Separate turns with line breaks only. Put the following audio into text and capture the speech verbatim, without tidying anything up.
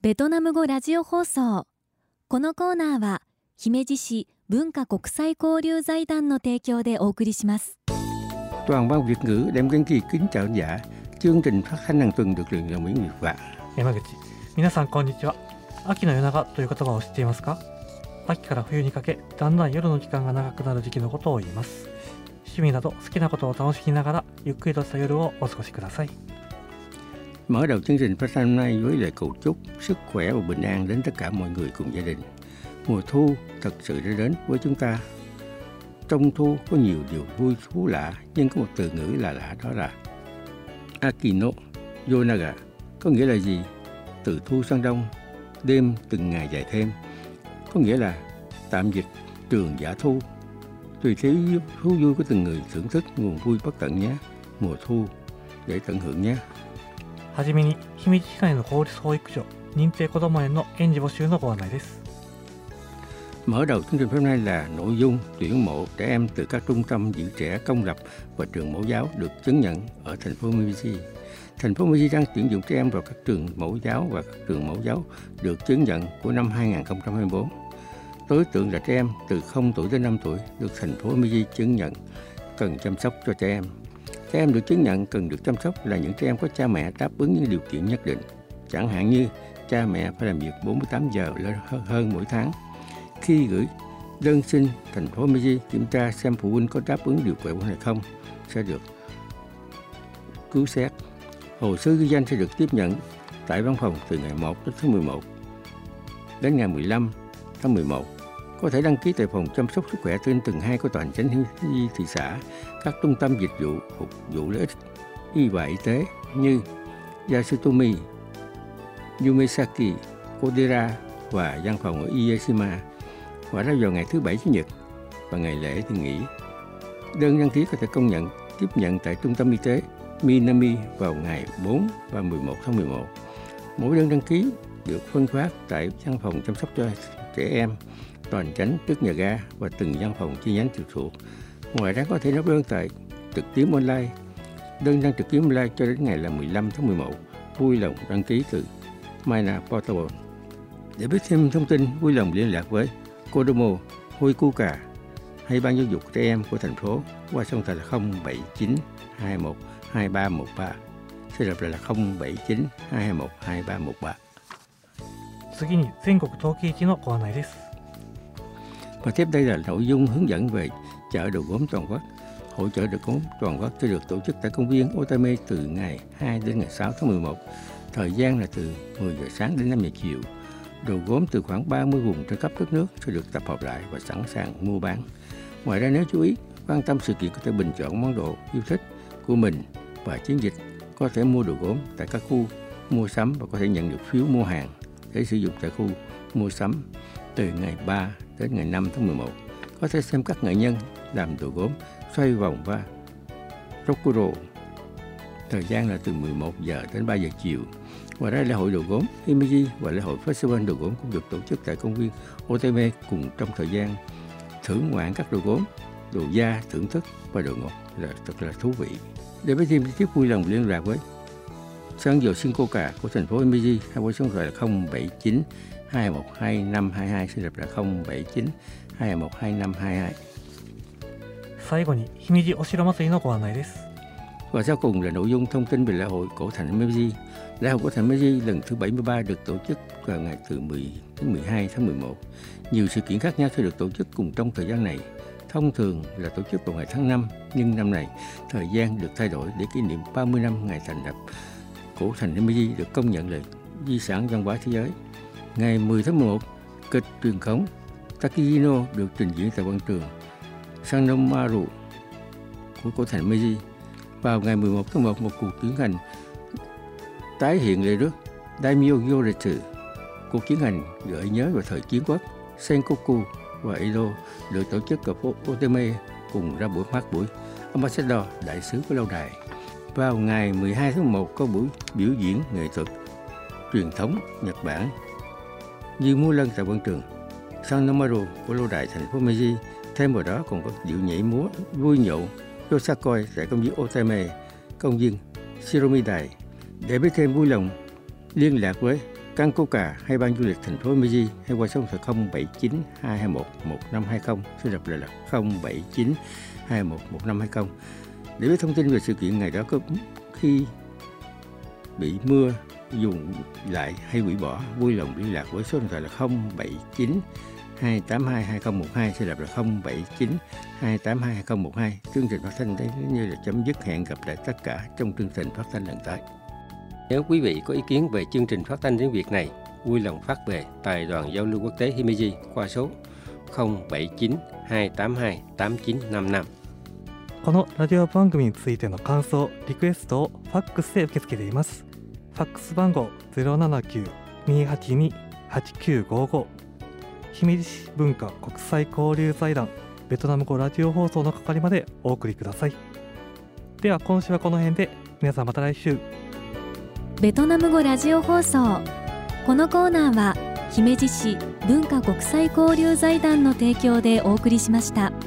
ベトナム語ラジオ放送。このコーナーは姫路市文化国際交流財団の提供でお送りします。
Toàn ban Việt ngữ đem Kiên Kỳ kính chào giả. Chương trình phát thanh hàng tuần được truyền dòng miễn Việt và
山口、皆さんこんにちは。秋の夜長という言葉を知っていますか？秋から冬にかけ、だんだん夜の時間が長くなる時期のことを言います。趣味など好きなことを楽しみながらゆっくりとした夜をお過ごしください。
Mở đầu chương trình phát thanh hôm nay với lời cầu chúc sức khỏe và bình an đến tất cả mọi người cùng gia đình. Mùa thu thật sự đã đến với chúng ta. Trong thu có nhiều điều vui thú lạ, nhưng có một từ ngữ là lạ, đó là Akino Yonaga. Có nghĩa là gì? Từ thu sang đông, đêm từng ngày dài thêm. Có nghĩa là tạm dịch trường giả thu. Tùy theo thú vui của từng người thưởng thức nguồn vui bất tận nhé. Mùa thu để tận hưởng nhé.
はじめに、姫路市内の公立保育所、認定こども園の園児募集のご案内です。
Mở đầu chương trình hôm nay là nội dung tuyển mộ trẻ em từ các trung tâm giữ trẻ công lập và trường mẫu giáo được chứng nhận ở thành phố Miji. Thành phố Miji đang tuyển dụng trẻ em vào các trường mẫu giáo và các trường mẫu giáo được chứng nhận của năm hai không hai tư. Đối tượng là trẻ em từ không tuổi đến năm tuổi được thành phố Miji chứng nhận cần chăm sóc cho trẻ em. Trẻ em được chứng nhận cần được chăm sóc là những trẻ em có cha mẹ đáp ứng những điều kiện nhất định. Chẳng hạn như cha mẹ phải làm việc bốn mươi tám giờ hơn mỗi tháng. Khi gửi đơn xin, thành phố Miji kiểm tra xem phụ huynh có đáp ứng điều kiện hay không sẽ được cứu xét. Hồ sơ ghi danh sẽ được tiếp nhận tại văn phòng từ ngày một tháng mười một đến ngày mười lăm tháng mười một. Có thể đăng ký tại phòng chăm sóc sức khỏe trên tầng hai của tòa hành chánh thị xã, các trung tâm dịch vụ phục vụ lợi ích y và y tế như Yasutomi, Yumesaki, Kodera và văn phòng ở Ieshima. Và ra vào ngày thứ bảy chủ nhật và ngày lễ thì nghỉ. Đơn đăng ký có thể công nhận tiếp nhận tại trung tâm y tế Minami vào ngày bốn và mười một tháng mười một. Mỗi đơn đăng ký được phân phát tại văn phòng chăm sóc cho trẻ em tòa hành chánh trước nhà ga và từng văn phòng chi nhánh trực thuộc. Ngoài ra có thể nộp đơn tại trực tuyến online. Đơn đăng trực tuyến online cho đến ngày là mười lăm tháng mười một. Vui lòng đăng ký từ Mina Portable. Để biết thêm thông tin, vui lòng liên lạc với Kodomo Hoikuka hay ban giáo dục trẻ em của thành phố qua số điện thoại là không bảy chín hai một hai ba một ba. Xin lặp lại là không bảy chín hai một hai ba một ba.
次に全国陶器市のご案内です。
Và tiếp đây là nội dung hướng dẫn về chợ đồ gốm toàn quốc. Hội chợ đồ gốm toàn quốc sẽ được tổ chức tại công viên Otame từ ngày hai đến ngày sáu tháng mười một. Thời gian là từ mười giờ sáng đến năm giờ chiều. Đồ gốm từ khoảng ba mươi vùng trên khắp đất nước sẽ được tập hợp lại và sẵn sàng mua bán. Ngoài ra nếu chú ý, quan tâm sự kiện có thể bình chọn món đồ yêu thích của mình và chiến dịch có thể mua đồ gốm tại các khu mua sắm và có thể nhận được phiếu mua hàng để sử dụng tại khu mua sắm từ ngày ba đến ngày năm tháng mười một. Có thể xem các nghệ nhân làm đồ gốm xoay vòng và Rokuro. Thời gian là từ mười một giờ đến ba giờ chiều. Ngoài ra lễ hội đồ gốm Himeji và lễ hội Festival đồ gốm cũng được tổ chức tại công viên Otame cùng trong thời gian thưởng ngoạn các đồ gốm, đồ da, thưởng thức và đồ ngọt là thật là thú vị. Để biết thêm chi tiết vui lòng liên lạc với Sang Dầu Shinkoka của thành phố Himeji hay với số điện thoại là không bảy chín hai một hai năm hai hai. Xin lặp lại không bảy chín hai một hai năm hai hai.
最後に姫路お城祭りのご案内です。
Và sau cùng là nội dung thông tin về lễ hội cổ thành Himeji. Lễ hội cổ thành Himeji lần thứ bảy mươi ba được tổ chức vào ngày từ mười đến mười hai tháng mười một. Nhiều sự kiện khác nhau sẽ được tổ chức cùng trong thời gian này. Thông thường là tổ chức vào ngày tháng năm, nhưng năm này thời gian được thay đổi để kỷ niệm ba mươi năm ngày thành lập. Cổ thành Himeji được công nhận là di sản văn hóa thế giới. Ngày mười tháng mười một, kịch truyền thống Takihino được trình diễn tại quảng trường Sannomaru của cổ thành Himeji. Vào ngày mười một tháng một, một cuộc tiến hành tái hiện lễ rước Daimyo Gyoretsu. Cuộc tiến hành gợi nhớ về thời chiến quốc Sengoku và Edo được tổ chức ở phố Otame cùng ra buổi phát buổi Ambassador đại sứ của lâu đài. Vào ngày mười hai tháng một có buổi biểu diễn nghệ thuật truyền thống Nhật Bản như múa lân tại quảng trường Sannomaru của lâu đài thành phố Meiji. Thêm vào đó còn có điệu nhảy múa vui nhộn Yosakoi tại công viên Otame, công viên Shiromidai. Để biết thêm vui lòng liên lạc với Căng Coca hay ban du lịch thành phố Meiji hay qua số điện thoại không bảy chín hai hai một một năm hai không, xin đọc lại là không bảy chín hai một một năm hai không. Để biết thông tin về sự kiện ngày đó có khi bị mưa dùng lại hay hủy bỏ, vui lòng liên lạc với số điện thoại là không bảy chín hai tám hai hai không một hai, sẽ đọc là không bảy chín hai tám hai hai không một hai. Chương trình phát thanh đây như là chấm dứt, hẹn gặp lại tất cả trong chương trình phát thanh lần tới. Nếu quý vị có ý kiến về chương trình phát thanh tiếng Việt này, vui lòng phát về Đài đoàn giao lưu quốc tế Himeji qua số không bảy chín hai tám hai tám chín năm năm。
このラジオ番組についての感想、リクエストをファックスで受け付けています。ファックス番号 ゼロななきゅうにはちにはちきゅうごご、姫路市文化国際交流財団ベトナム語ラジオ放送の係までお送りください。では今週はこの辺で、皆さんまた来週。
ベトナム語ラジオ放送。このコーナーは姫路市文化国際交流財団の提供でお送りしました。